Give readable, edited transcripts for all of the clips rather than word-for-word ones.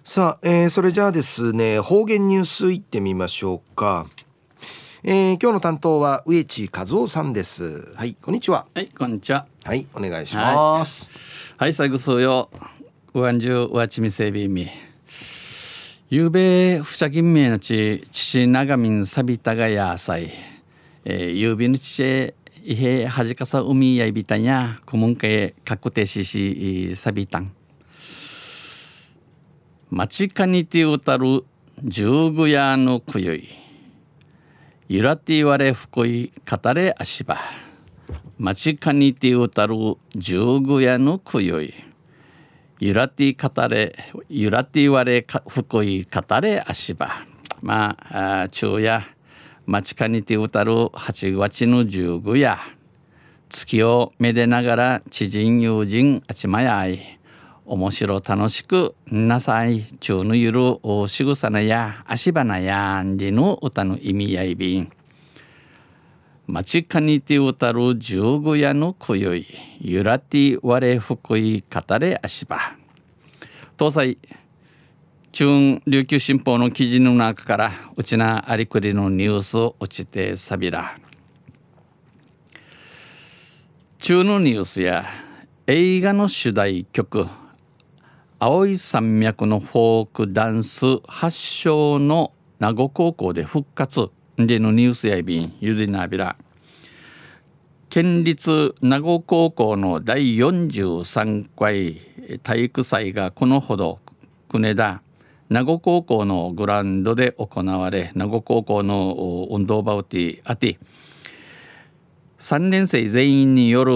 さあ、それじゃあですね、方言ニュースいってみましょうか。今日の担当は植地和夫さんです。はい、こんにちは。 はい、こんにちは。 はい、お願いします。 はい、最後そうよ。うわんじゅうわちみせびみ。ゆうべふしゃぎんめのち父長民さびたがやさい。ゆうびのちへいへはじかさ海やいびたんやこむんかえ確定しさびたん。町かにてうたる十具屋のくゆい。ゆらて言われふこい語れあしば。町かにてうたる十具屋のくゆい。ゆらて語れゆらて言われふこい語れあしば。まあ昼夜町かにてうたる8月の十具屋。月をめでながら知人友人あちまやい。面白楽しくなさい中のゆるおしぐさなや足場なやんでの歌の意味やいびん。町かにて歌る十五夜のこよいゆらてわれふこい語れ足場。東西中琉球新報の記事の中からうちなありくりのニュースを落ちてさびら。中のニュースや映画の主題曲青い山脈のフォークダンス発祥の名護高校で復活でのニュースやいびんゆでなびら。県立名護高校の第43回体育祭がこのほど国田名護高校のグラウンドで行われ、名護高校の運動場をてあて3年生全員による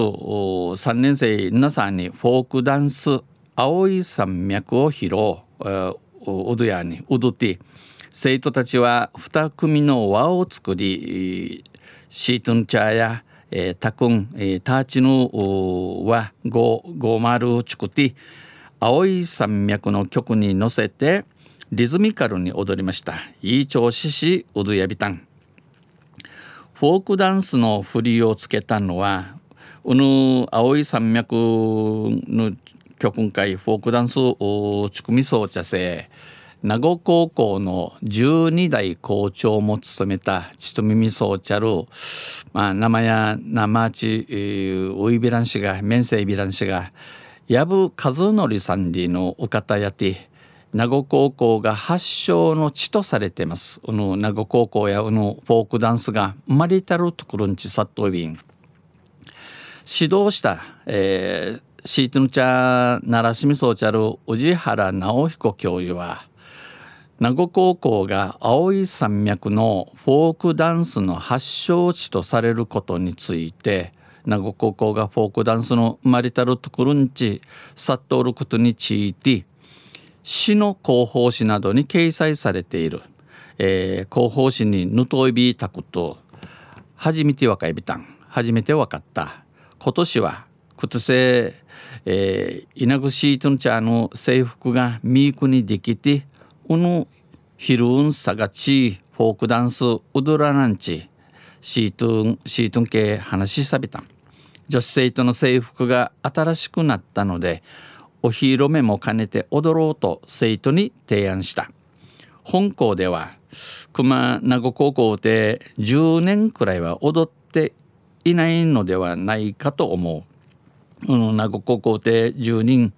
3年生皆さんにフォークダンス青い山脈を披露踊やに踊って生徒たちは2組の輪を作りシートンチャーやタクンターチのはゴマルを作って青い山脈の曲に乗せてリズミカルに踊りました。いい調子し踊やびたん。フォークダンスの振りをつけたのは青い山脈の曲会フォークダンスをちくみそうちゃせ名護高校の12代校長も務めたちとみみそうちゃる、生や生ちおいびらんしが面生びらんしがやぶ和則さんでのお方やて名護高校が発祥の地とされています。名護高校やフォークダンスが生まれたるところにちさっといびん指導した、シートヌチャ奈良市みそうちゃる宇治原直彦教諭は名護高校が青い山脈のフォークダンスの発祥地とされることについて名護高校がフォークダンスの生まれたるところにちさっとおることについて市の広報誌などに掲載されている、広報誌にぬといびたこと初めてわかいびたん初めてわかった今年はことせ稲ぐシートンチャーの制服がミークにできてヒルンサガチフォークダンスウドラナンチシートン系話しさびたん。女子生徒の制服が新しくなったのでお披露目も兼ねて踊ろうと生徒に提案した。本校では熊名護高校で10年くらいは踊っていないのではないかと思う。名護高校で10人、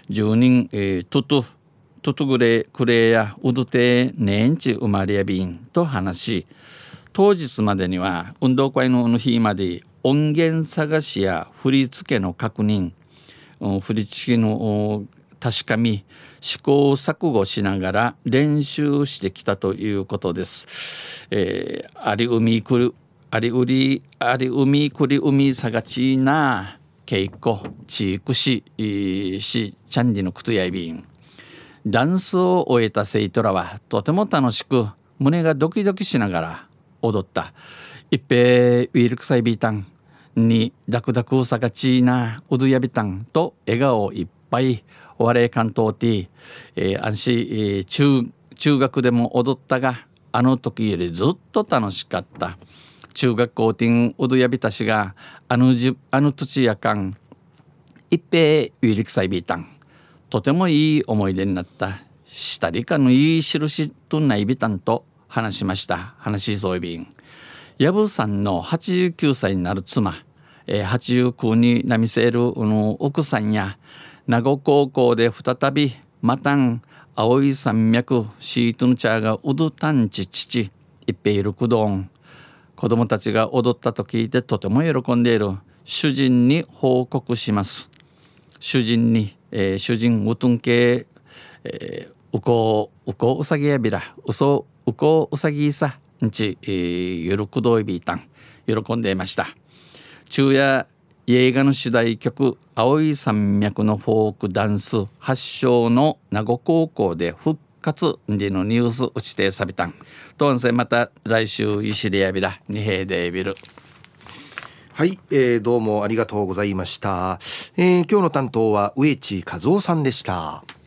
トトグレクレやウドテネンチ生まれやびんと話し、当日までには運動会の日まで音源探しや振り付けの確認、振り付けの確かみ試行錯誤しながら練習してきたということです。ありうみくり海さがちな稽古チークしチャンディのクトやいびん。ダンスを終えた生徒らはとても楽しく胸がドキドキしながら踊った。一平ウィルクサイビータンにダクダクさがちなうどやびたんと笑顔いっぱいお笑い関東ティ安心中学でも踊ったがあの時よりずっと楽しかった。中学校ティンうどやびたしがあの土やかん一平ウィリクサイビータンとてもいい思い出になった。 したりかのいい印とないびたんと話しました。話しそういびん。やぶさんの89歳になる妻、89になみせる奥さんや、名護高校で再びまたん青い山脈シートの茶がうどたんち父いっぺいるくどん、子供たちが踊ったと聞いてとても喜んでいる。主人に報告します。主人うとんけ、うこうさぎやびらうこうさぎさんち、ゆるくどいびいたん喜んでいました。昼夜映画の主題曲青い山脈のフォークダンス発祥の名護高校で復活でのニュース打ちてさびたんとんせまた来週いしりやびらにへいでびる。 はい、どうもありがとうございました。今日の担当は植地和夫さんでした。